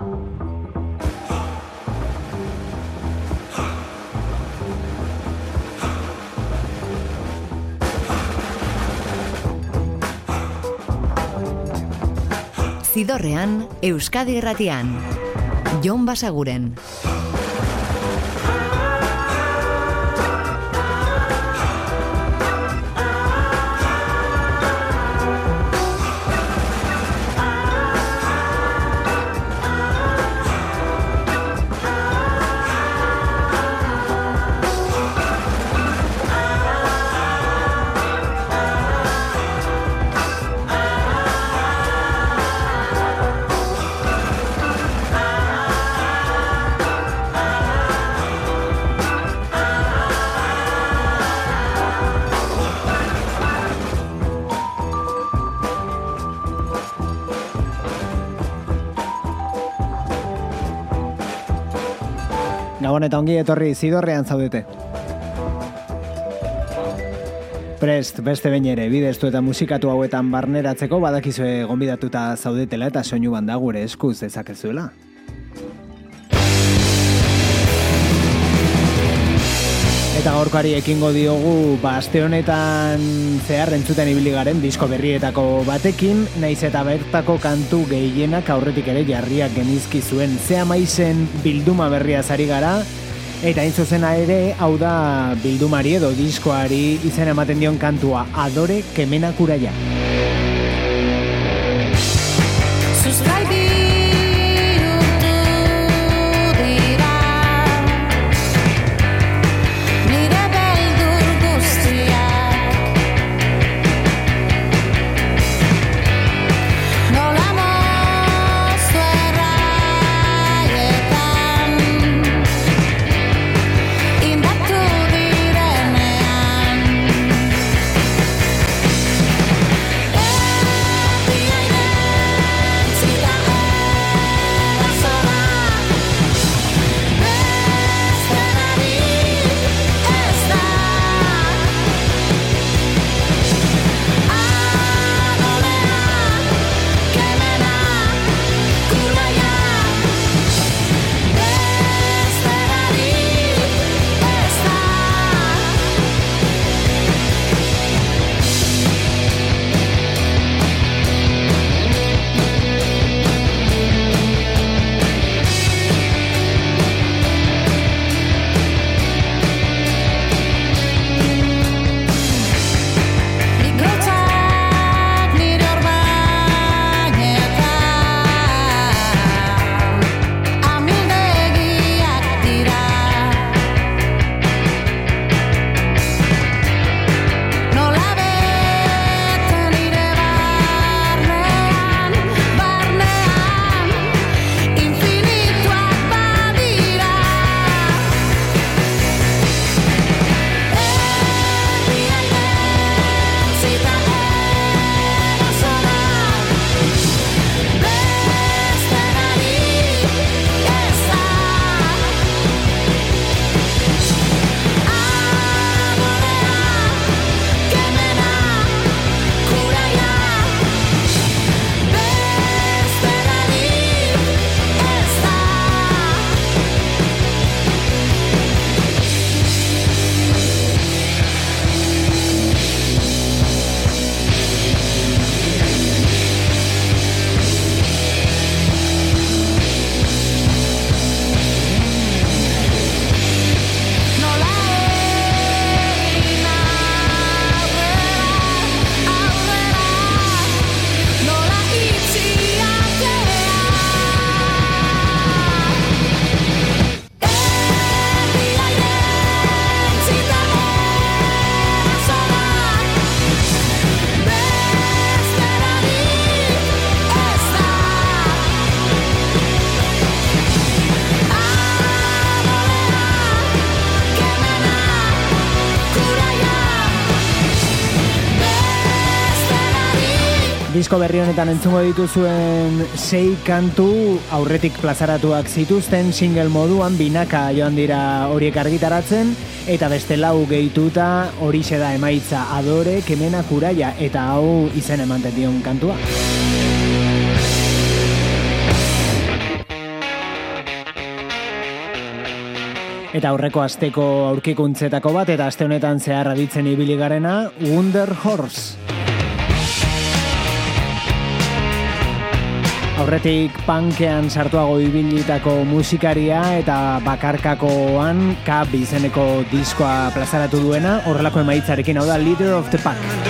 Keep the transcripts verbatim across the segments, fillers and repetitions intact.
Zidorrean, Euskadi Irratian. Jon Basaguren. Gabon eta ongi etorri Zidorrean zaudete. Prest, beste behin ere, bideztu eta musikatu hauetan barneratzeko badakizue gonbidatuta zaudetela eta soinu banda gure eskuz dezakezuela. Eta gaurkoari ekingo diogu, ba, aste honetan zehar entzuten ibili garen disko berrietako batekin, naiz eta bertako kantu gehienak aurretik ere jarriak genizki zuen. Zea maizen bilduma berria zari gara, eta hain zuzena ere, hau da bildumari edo diskoari izen ematen dion kantua, Adore Kemena Kuraia. Disko berri honetan entzungo dituzuen sei kantu aurretik plazaratuak zituzten single moduan binaka joan dira horiek argitaratzen, eta beste lau gehituta horixe da emaitza, Adore Kemena Kuraia, eta hau izen ematen dion kantua. Eta aurreko asteko aurkikuntzetako bat, eta aste honetan zehar aditzen ibili garena, Wonder Horse. Aurretik punkean sartuago ibilitako musikaria eta bakarkakoan Cab izeneko diskoa plazaratu duena, horrelako emaitzarekin, hau da Leader of the Pack.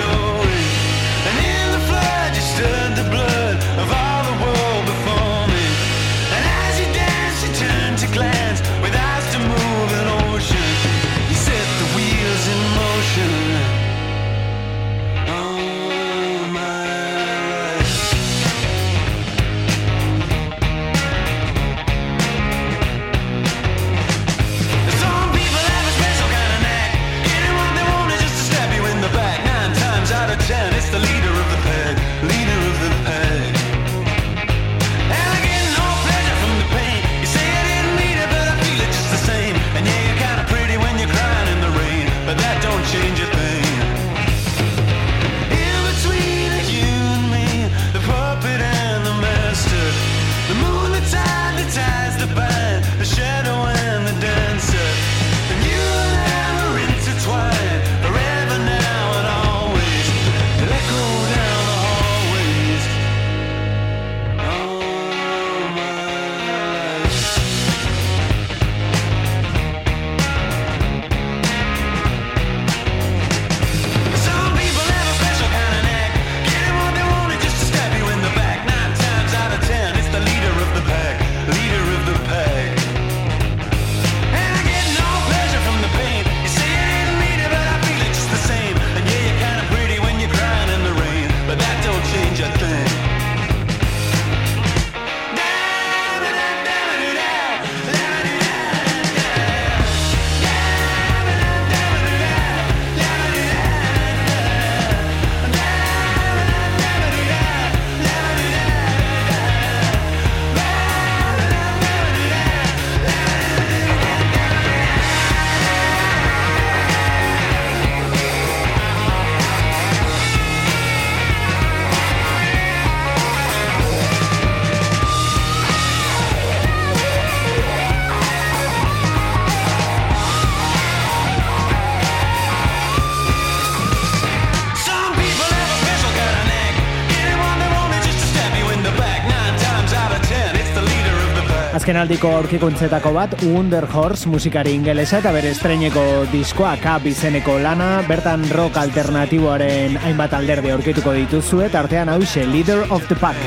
Azkenaldiko aurkikuntzetako bat, Wonder Horse musikari ingelesa eta bere estreineko diskoa Cab izeneko lana, bertan rock alternatiboaren hainbat alderde aurkituko dituzue, eta artean hauxe, Leader of the Pack.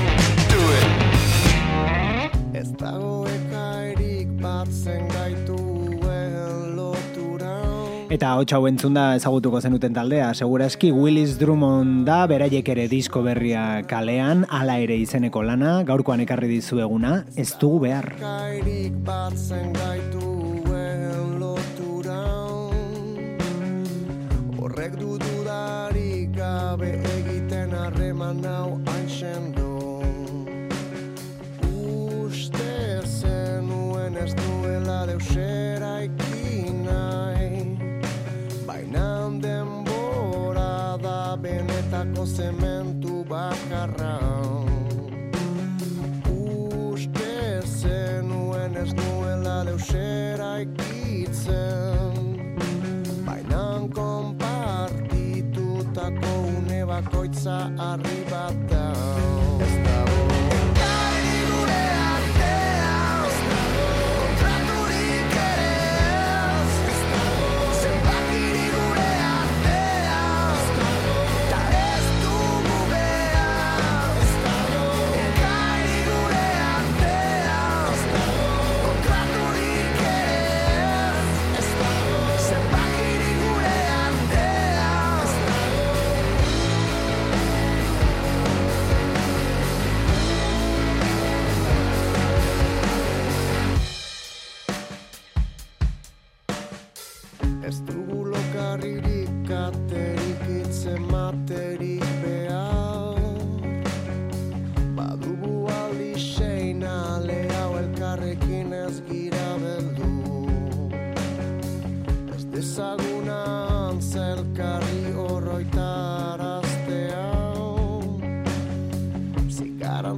Eta hotx hau entzunda ezagutuko zenuten taldea, segurazki Willis Drummond da, beraiek ere disko berria kalean, Hala ere izeneko lana, gaurkoan ekarri dizueguna, Ez dugu behar. Horrek du dudarik gabe egiten harreman hau hainxendo. Uste zenuen ez duela deusera ikin nahi, bainan denbora da benetako zementu bakarra. Uste zenuen ez duela deusera ikitzen, bainan konpartitutako une bakoitza harri bat da. Ez dago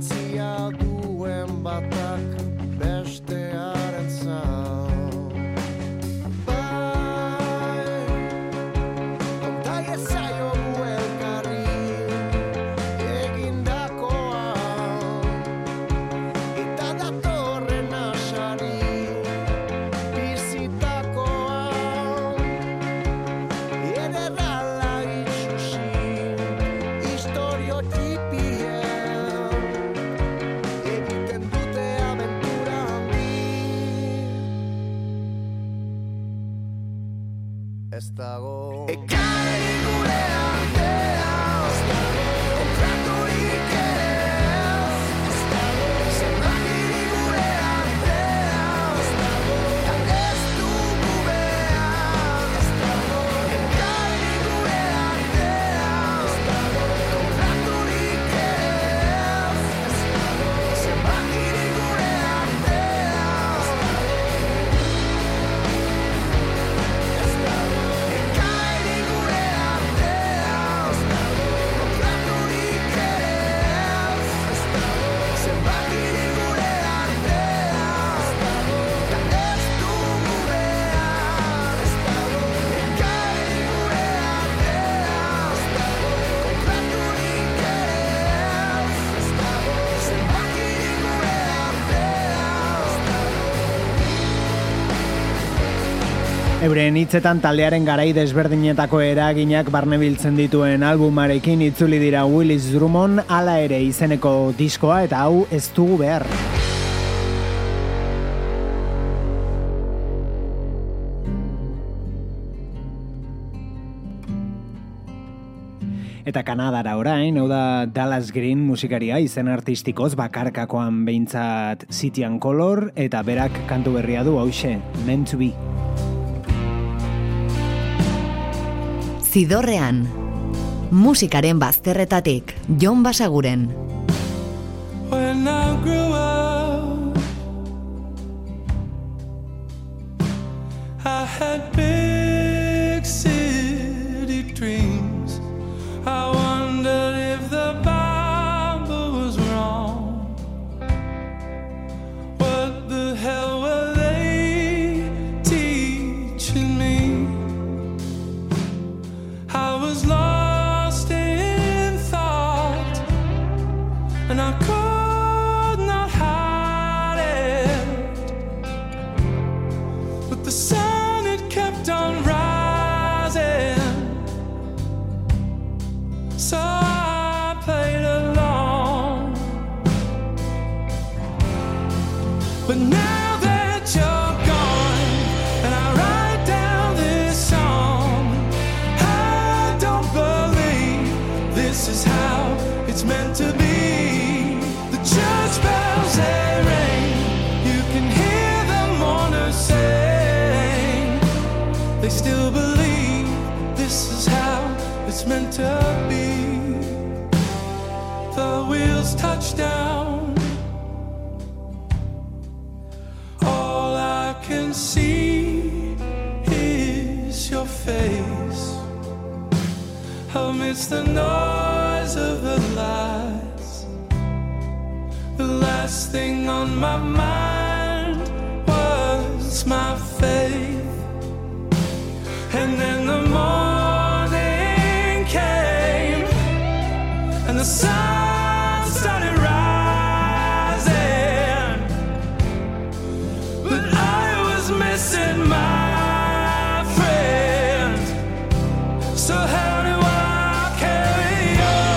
garantzia duen batak bestearen zau. dago. Ekarri gure artea ez dago, kontraturik ere ez dago, zenbakirik gure artea ez dago, eta ez dugu behar ez dago. Ekarri gure artea ez dago, kontraturik ere ez dago, zenbakirik gure artea ez dago. Euren hitzetan taldearen garai desberdinetako eraginak barnebiltzen dituen albumarekin itzuli dira Willis Drummond, hala ere izeneko diskoa eta hau ez dugu behar. Eta Kanadara orain, hau da Dallas Green musikaria izen artistikoz bakarkakoan behintzat City and Color, eta berak kantu berria du hauxe, Meant to Be. Zidorrean, musikaren bazterretatik, Jon Basaguren. When I grew up, I had big city dreams. I wondered if the Bible was wrong. What the hell were they teaching me? I was lost in thought, and I could not hide it. But the sun, it kept on rising, so I played along. But now that you're gone, and I write down this song, I don't believe this is how it's meant to be. The church bells, they ring, you can hear the mourners sing. They still believe this is how it's meant to be. The wheels touch down, all I can see is your face amidst the noise of the lights. The last thing on my mind was my faith, and then the morning came, and the sun started rising, but I was missing my friend. So how do I carry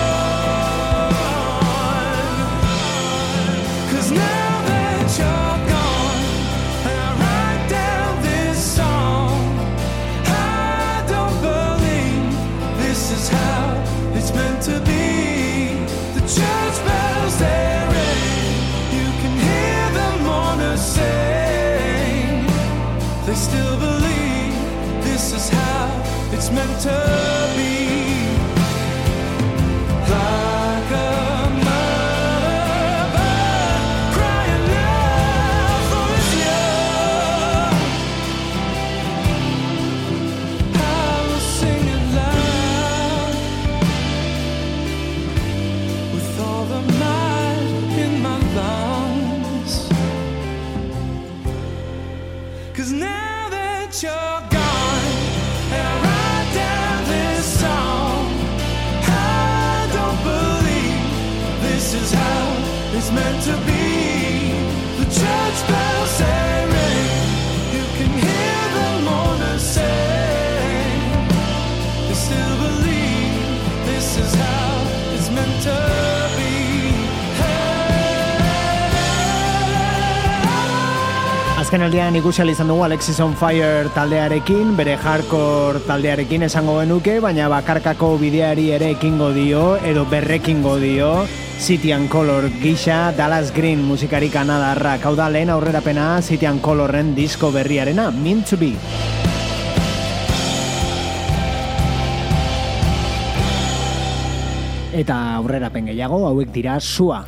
on? 'Cause now that you're gone, and I write down this song, I don't believe this is how it's meant to be. The church bells, they ring, you can hear the mourners sing. They still believe this is how it's meant to be. Like a mother crying out for its young, I will sing it loud with all the might in my lungs. 'Cause now that you're gone, and I write down this song, I don't believe this is how it's meant to be. The church bells, they ring, you can hear the mourners sing. They still believe this is how it's meant to be. Azkenaldian ikusi ahal izan dugu Alexis on Fire taldearekin, bere hardcore taldearekin esango genuke, baina bakarkako bideari ere ekingo dio, edo berrekingo dio, City and Color gisa Dallas Green musikari kanadarra. Hau da lehen aurrerapena City and Colorren disko berriarena, Meant to Be. Eta aurrerapen gehiago, hauek dira Sua.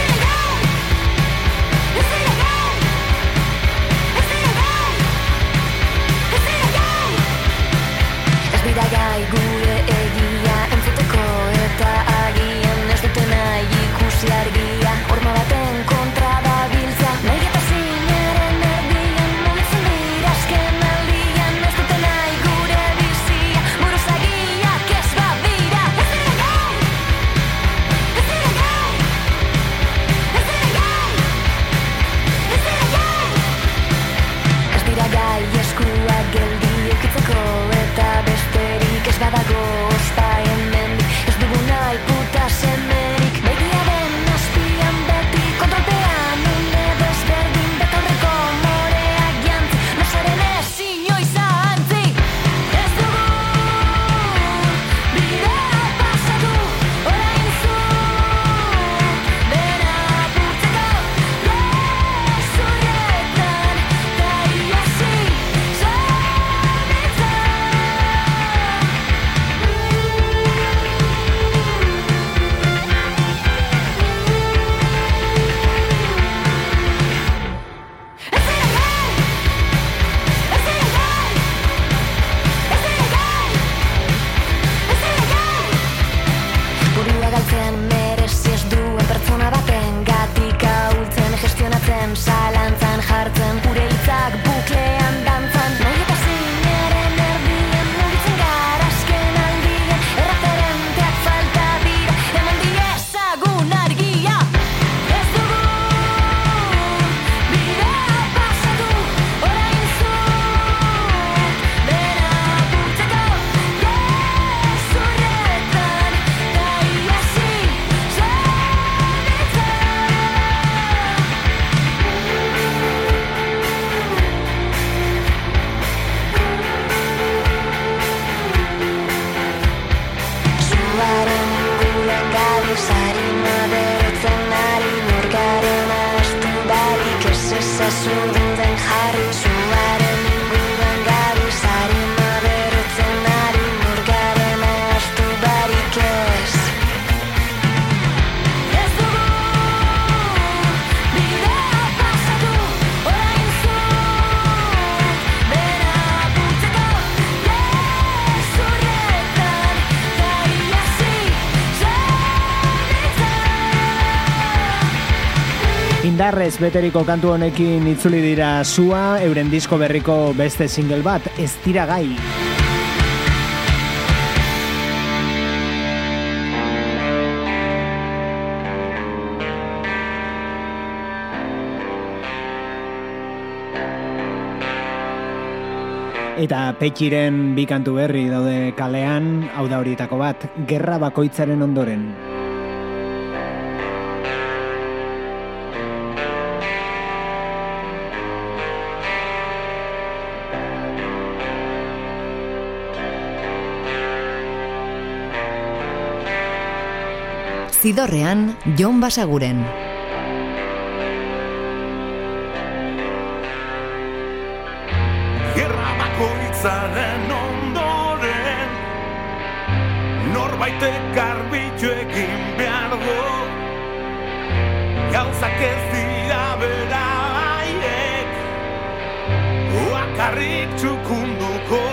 Indarrez beteriko kantu honekin itzuli dira Sua, euren disko berriko beste single bat, Ez dira gai. Eta Petxiren bi kantu berri daude kalean, hau da horietako bat, Gerra bakoitzaren ondoren. Zidorrean, Jon Basaguren. Gerra bakoitzaren ondoren norbaitek garbitu egin behar du, gauzak ez dira beraiek bakarrik txukunduko.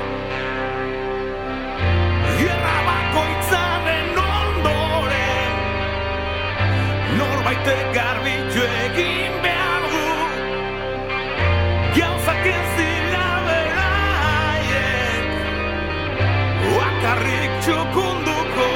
Gerra bakoitzaren ondoren norbaitek garbitu egin behar du, gauzak ez dira beraiek bakarrik txukunduko.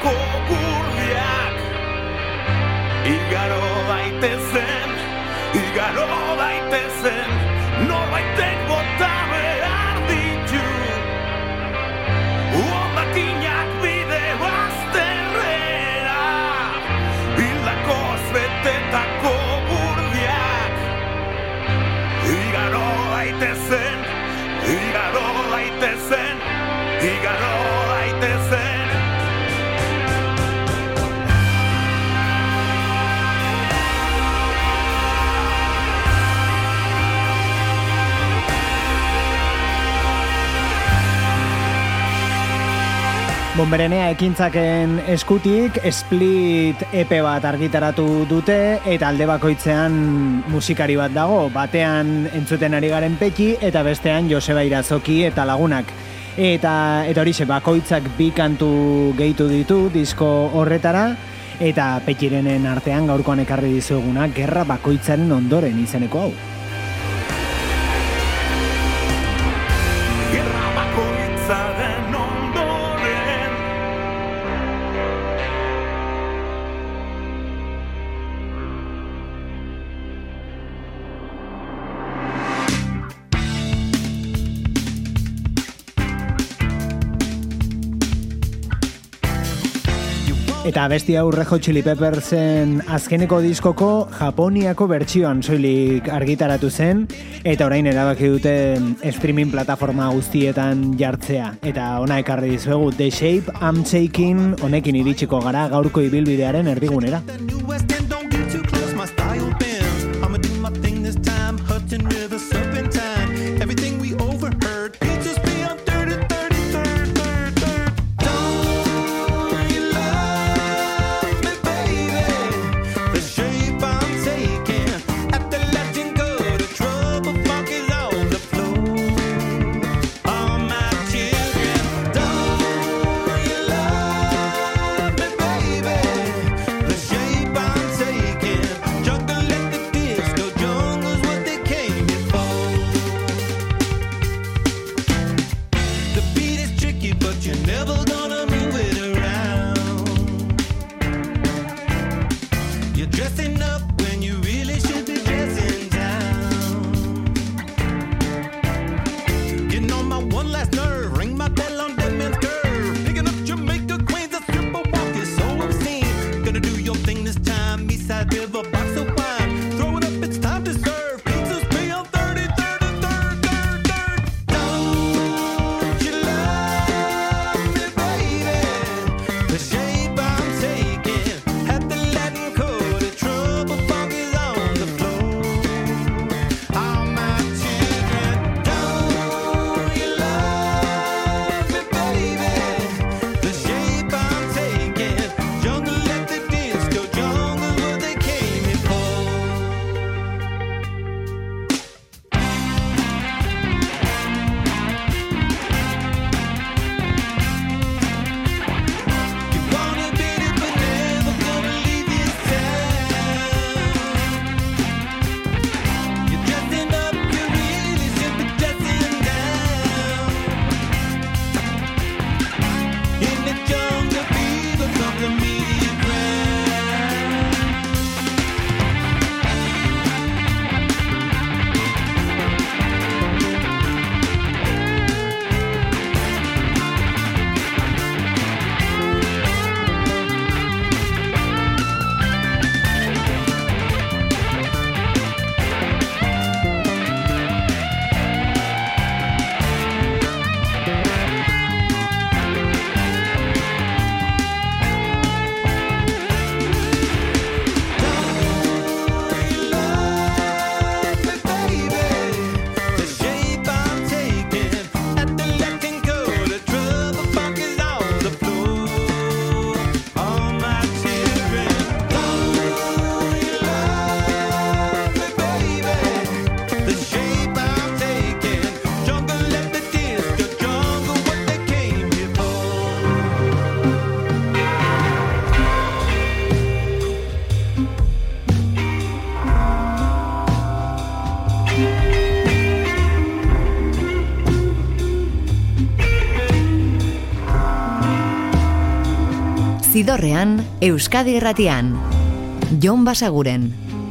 gurdiak igaro daitezen, igaro daitezen, norbaitek bota behar ditu hondakinak bide bazterrera, hildakoz betetako gurdiak igaro daitezen, igaro daitezen, igaro daitezen. Bonberenea ekintzaken eskutik Split E P bat argitaratu dute eta alde bakoitzean musikari bat dago, batean entzuten ari garen Peki eta bestean Joseba Irazoki eta lagunak. Eta eta horixe bakoitzak bi kantu gehitu ditu disko horretara eta Pekirenen artean gaurkoan ekarri dizueguna Gerra bakoitzaren ondoren izeneko hau. Gerra bakoitzaren ondoren Eta abesti hau Red Hot Chili Peppersen azkeneko diskoko Japoniako bertsioan soilik argitaratu zen eta orain erabaki dute streaming plataforma guztietan jartzea. Eta ona ekarri dizuegu The Shape I'm Taking, honekin iritsiko gara gaurko ibilbidearen erdigunera. The shape I'm Zidorrean, Euskadi Irratian. Jon Basaguren.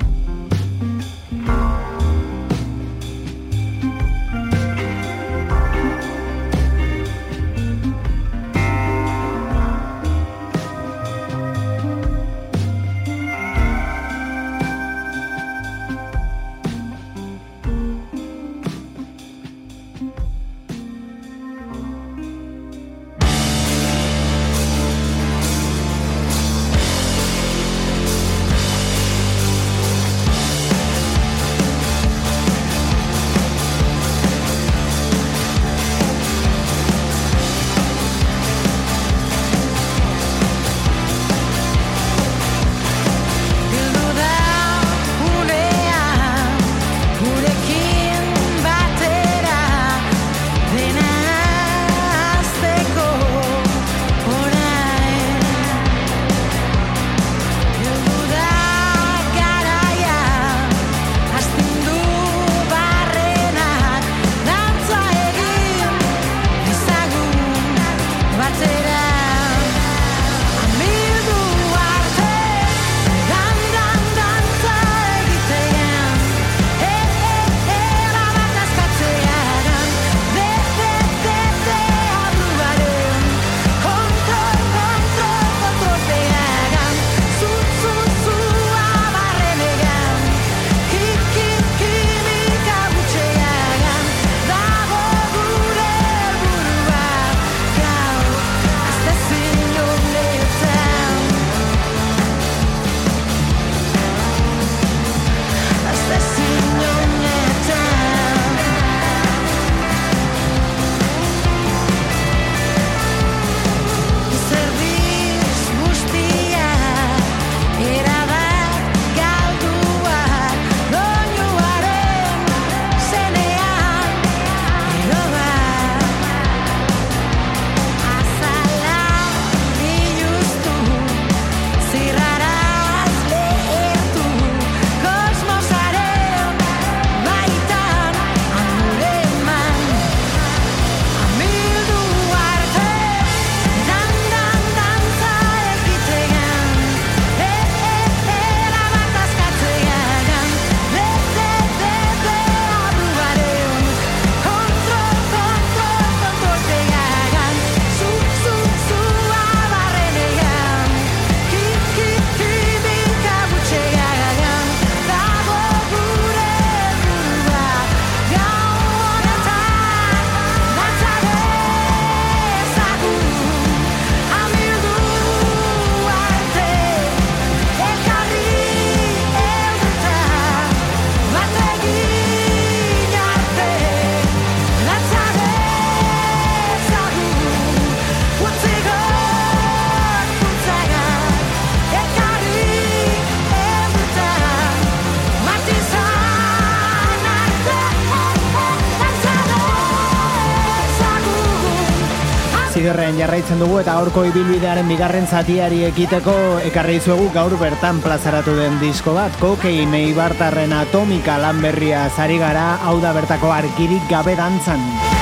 Zidorrean jarraitzen dugu eta gaurko ibilbidearen bigarren zatiari ekiteko ekarri dizuegu gaur bertan plazaratu den disko bat. Kokain eibartarren Atomika lan berria zari gara, hau da bertako Argirik gabe dantzan.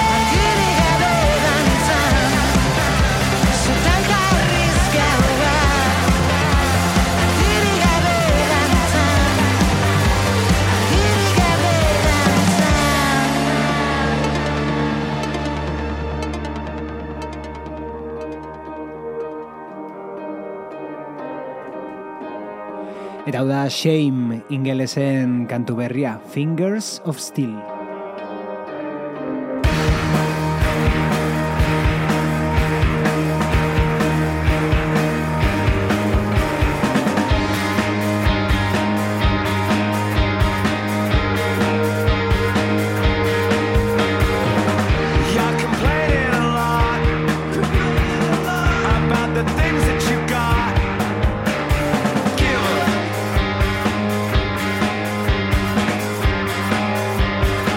Eta hau da Shame ingelesen kantu berria, Fingers of Steel. Give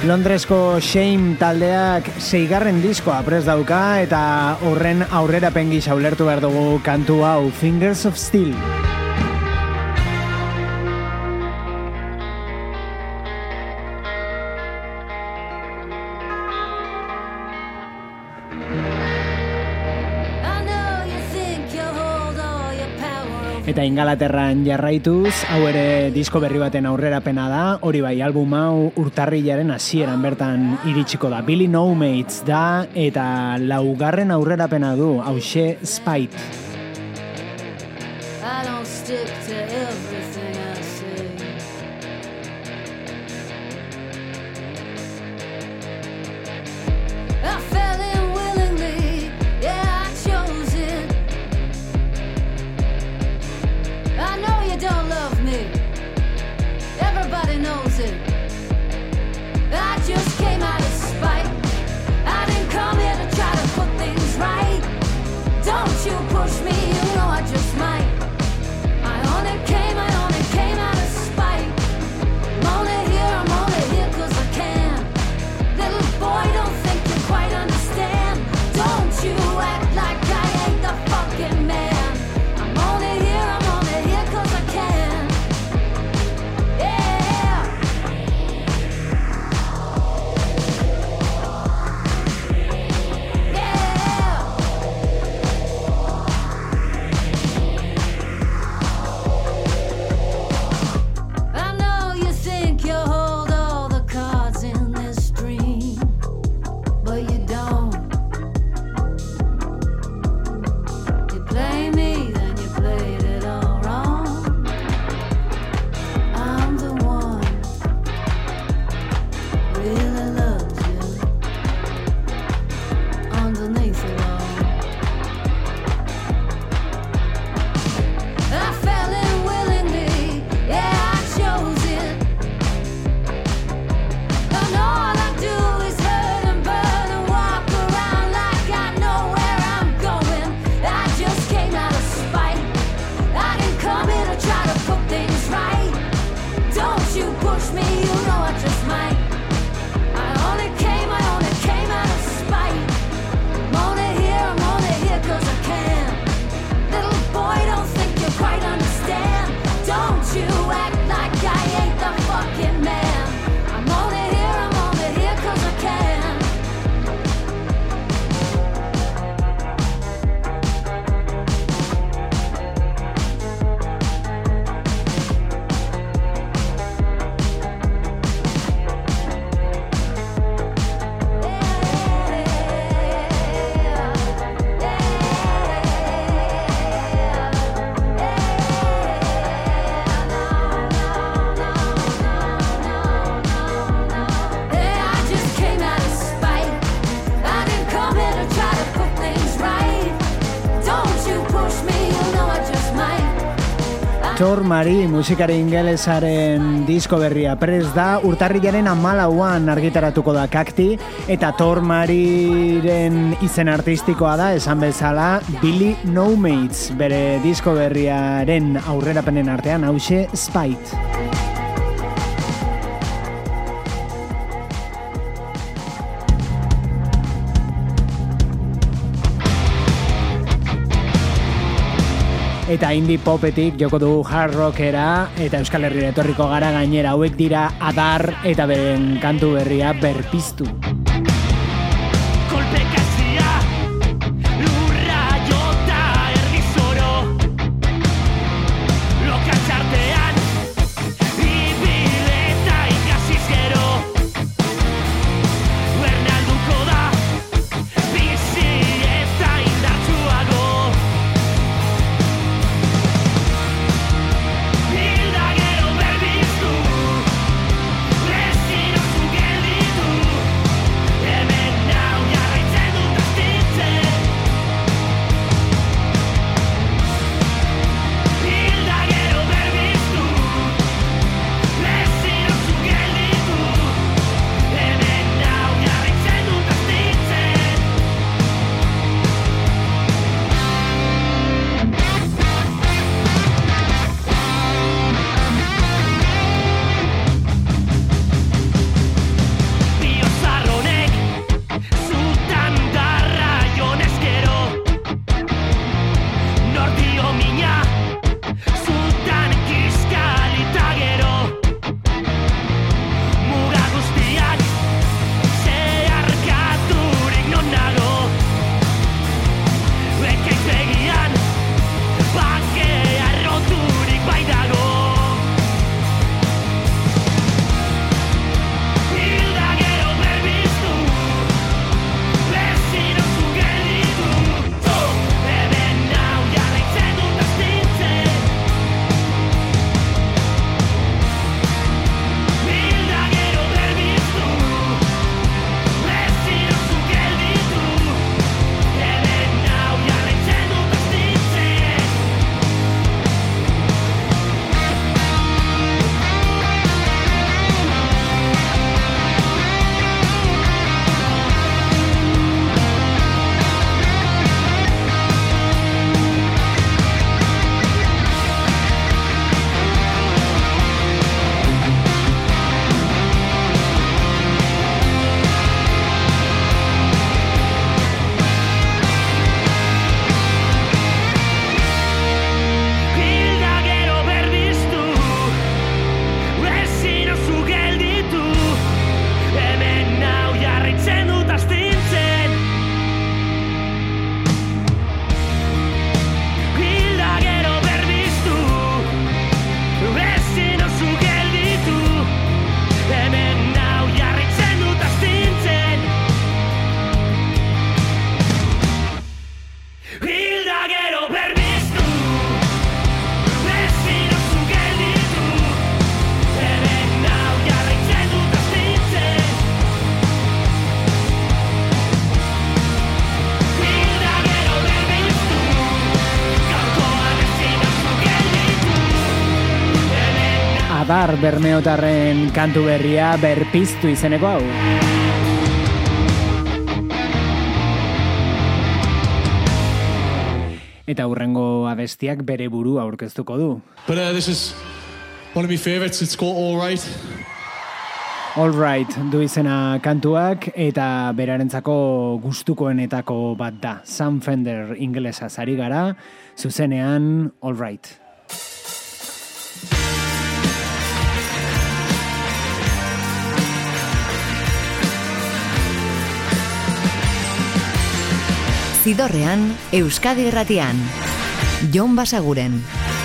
Londresko Shame taldeak seigarren diskoa prest dauka eta horren aurrerapen gisa ulertu behar dugu kantu hau Fingers of Steel. Eta Ingalaterran jarraituz, hau ere disko berri baten aurrerapena da, hori bai, album hau urtarrilaren hasieran bertan iritsiko da. Billy No Mates da, eta laugarren aurrerapena du, hauxe Spite. I don't stick to everything I say. I fell in willingly, yeah, I chose it. I know you don't love me, everybody knows it. I just came out of spite. I didn't come here to try to put things right. Don't you push me, you know I just might. I only came, I only came out of spite. I'm only here, I'm only here 'cause I can. Little boy, don't think you quite understand. Don't you act like I ain't the fucking man. I'm only here, I'm only here 'cause I can. Yeah. Yeah. I know you think you hold all the cards in this dream, but you don't. You play me, then you played it all wrong. I'm the one really loves you underneath it all. I fell in willingly, yeah, I chose it. And all I do is hurt and burn and walk around like I know where I'm going. I just came out of spite. I didn't come here to try to put things right. Don't you push me, you know I just might. I only came, I only came out of spite. I'm only here, I'm only here 'cause I can. Little boy, don't think you quite understand. Don't you act like I ain't the fucking man. I'm only here, I'm only here 'cause I can. Yeah, I just came out of spite. I didn't come here to try to put things right. Don't you push me, you know I just might. Tor Mari musikari ingelesaren disko berria prest da, urtarrilaren hamalauan argitaratuko da Kakti, eta Tor Mariren izen artistikoa da, esan bezala, Billy No Mates, bere disko berriaren aurrerapenen artean, hauxe Spite. Eta indie popetik joko dugu hard rockera, eta Euskal Herrira etorriko gara gainera, hauek dira Adar eta beren kantu berria Berpiztu. Kolpekazia, lurra jota erdi zoro. Lokatzartean, ibil eta ikasiz gero. Bernalduko da, bizi eta indartsuago. Hilda gero berbiztu, lezin oso gelditu. Adar bermeotarren kantu berria Berpiztu izeneko hau. Eta hurrengo abestiak bere burua aurkeztuko du. But uh, this is one of my favorites. It's called All Right. All Right du izena kantuak eta berarentzako gustukoenetako bat da. Sam Fender ingelesa zari gara, zuzenean All Right. Zidorrean, Euskadi Irratian. Jon Basaguren.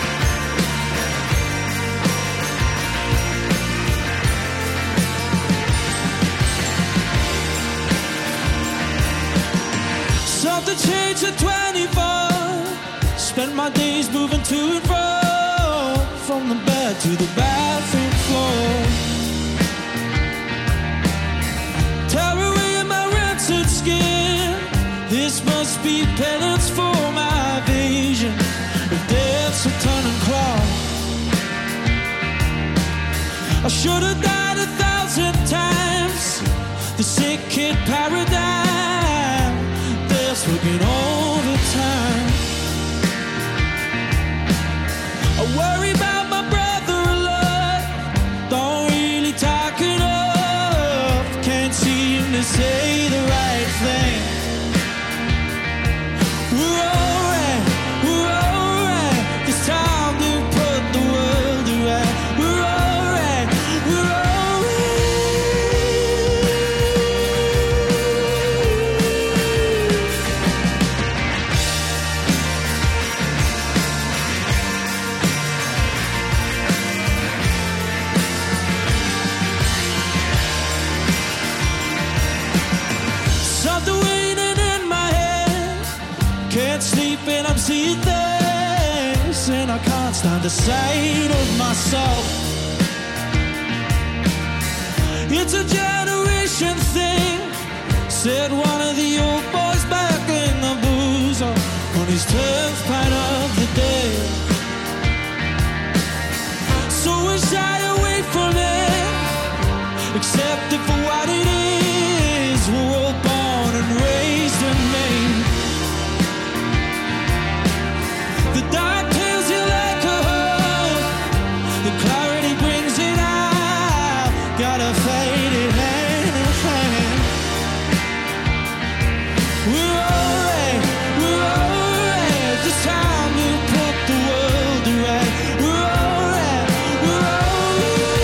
Something changed at twenty-four. Spent my days moving to and fro, from the bed to the bathroom floor. Tear away my rancid skin. This must be penance for my vision of death's a turning clock. I should have died a thousand times. The sick kid paradigm. Death's working overtime. I worry about my brother a lot. Don't really talk enough. Can't seem to say the right thing. We're alright, we're alright. It's time to put the world to right. We're alright, we're alright. Something waiting in my head. Can't sleep and I'm seeing things, and I can't stand the sight of myself. It's a generation thing, said one of the old boys back in the booze on his tenth pint of the day. So we shy away from it, accept it for what it is. We're all born and raised in Maine. The dark tells you like a hug. The clarity brings it out. Gotta fade it hand in hand. We're alright, we're alright. This time to put the world to right. We're alright, we're alright.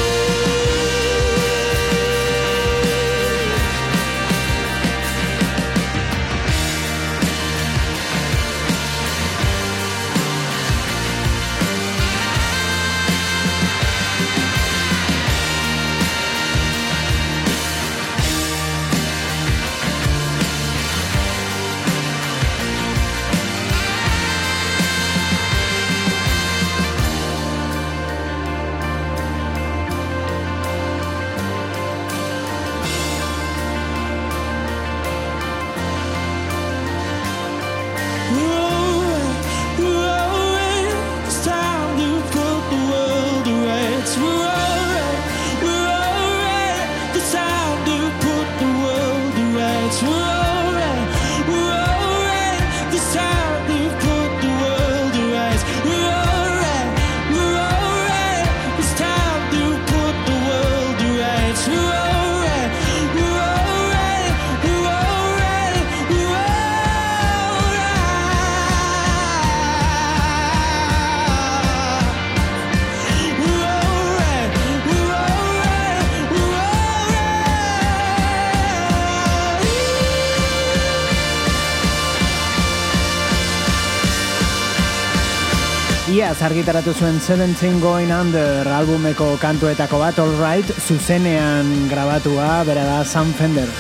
Iaz argitaratu zuen Seventeen Going Under albumeko kantuetako bat, All Right, zuzenean grabatua, bera da Sam Fender.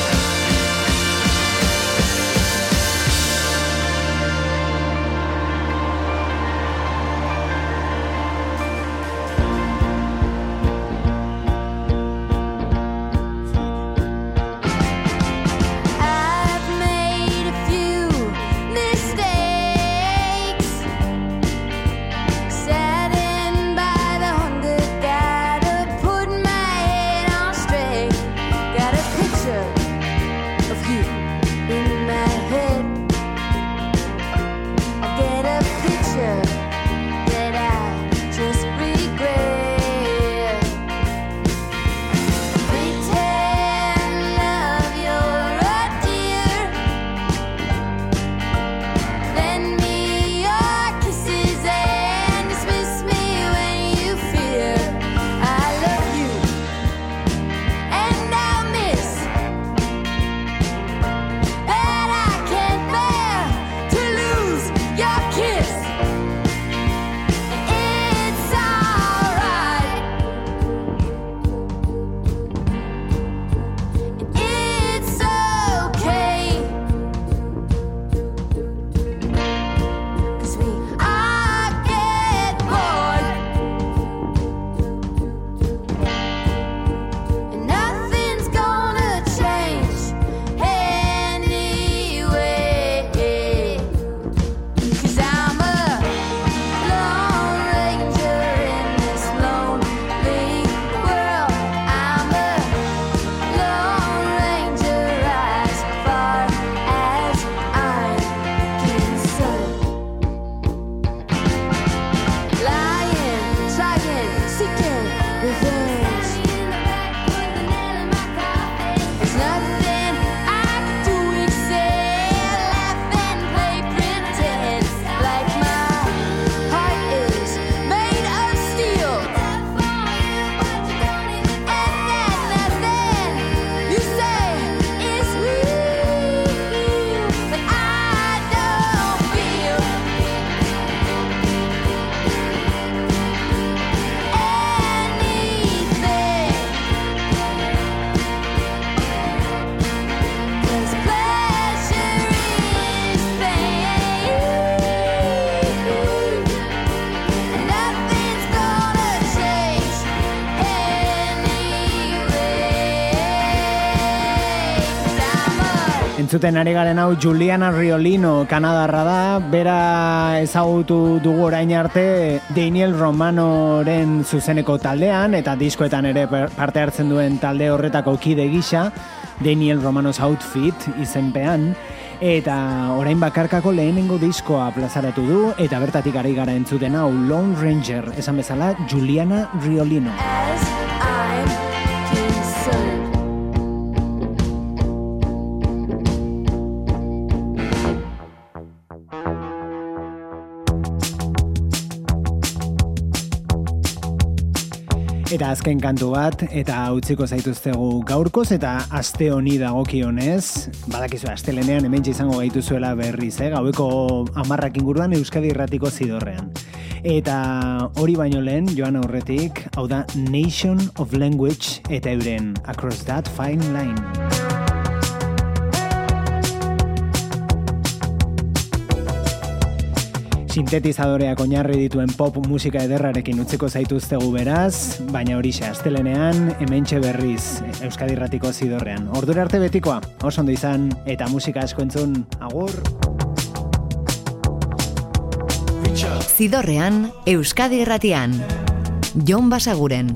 I've made a few mistakes, sitting by the hundred guys. Entzuten ari garen hau Juliana Riolino Kanadarra da, bera ezagutu dugu orain arte Daniel Romanoren zuzeneko taldean eta diskoetan ere parte hartzen duen talde horretako kide gisa, Daniel Romano's Outfit izenpean, eta orain bakarkako lehenengo diskoa plazaratu du eta bertatik ari gara entzuten hau Lone Ranger, esan bezala Juliana Riolino. As I'm concerned. Eta azken kantu bat, eta utziko zaituztegu gaurkoz, eta aste honi dagokionez, badakizu astelenean hemen izango gaituzuela berriz, eh? Gaueko hamarrak inguruan Euskadi Irratiko Zidorrean. Eta hori baino lehen, joan aurretik, hau da Nation of Language eta euren Across That Fine Line. Sintetizadoreak oinarri dituen pop musika ederrarekin utziko zaituztegu beraz, baina horixe astelenean hementxe berriz Euskadi Irratiko Zidorrean. Ordura arte betikoa, oso ondo izan eta musika asko entzun, agur! Zidorrean, Euskadi Irratian. Jon Basaguren.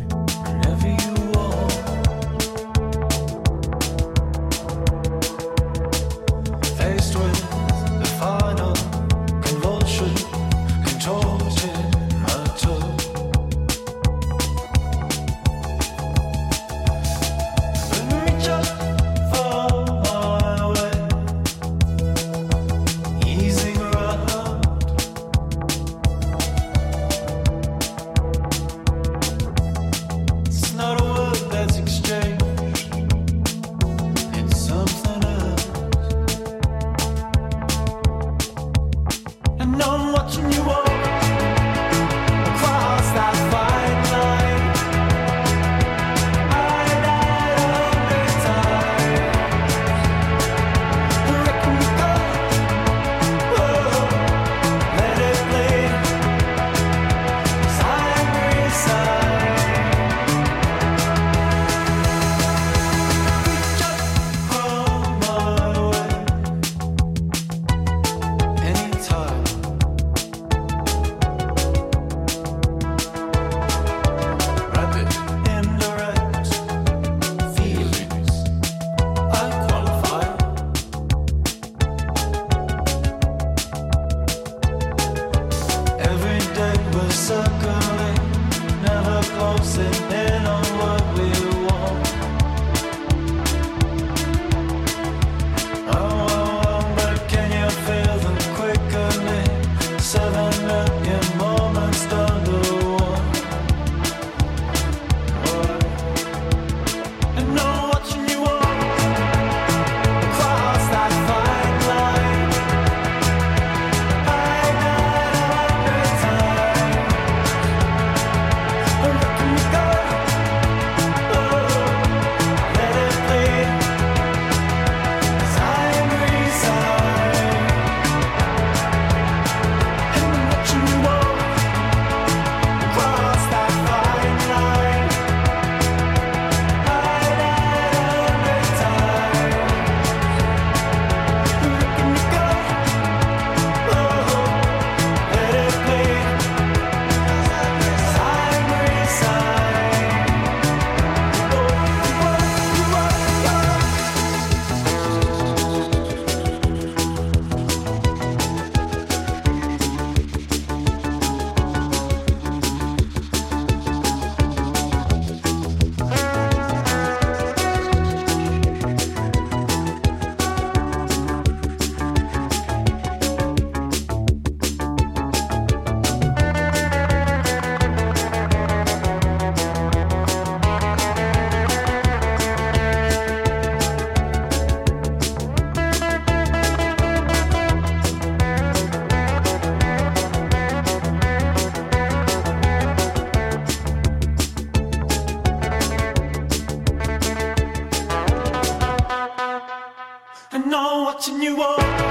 And now watching you walk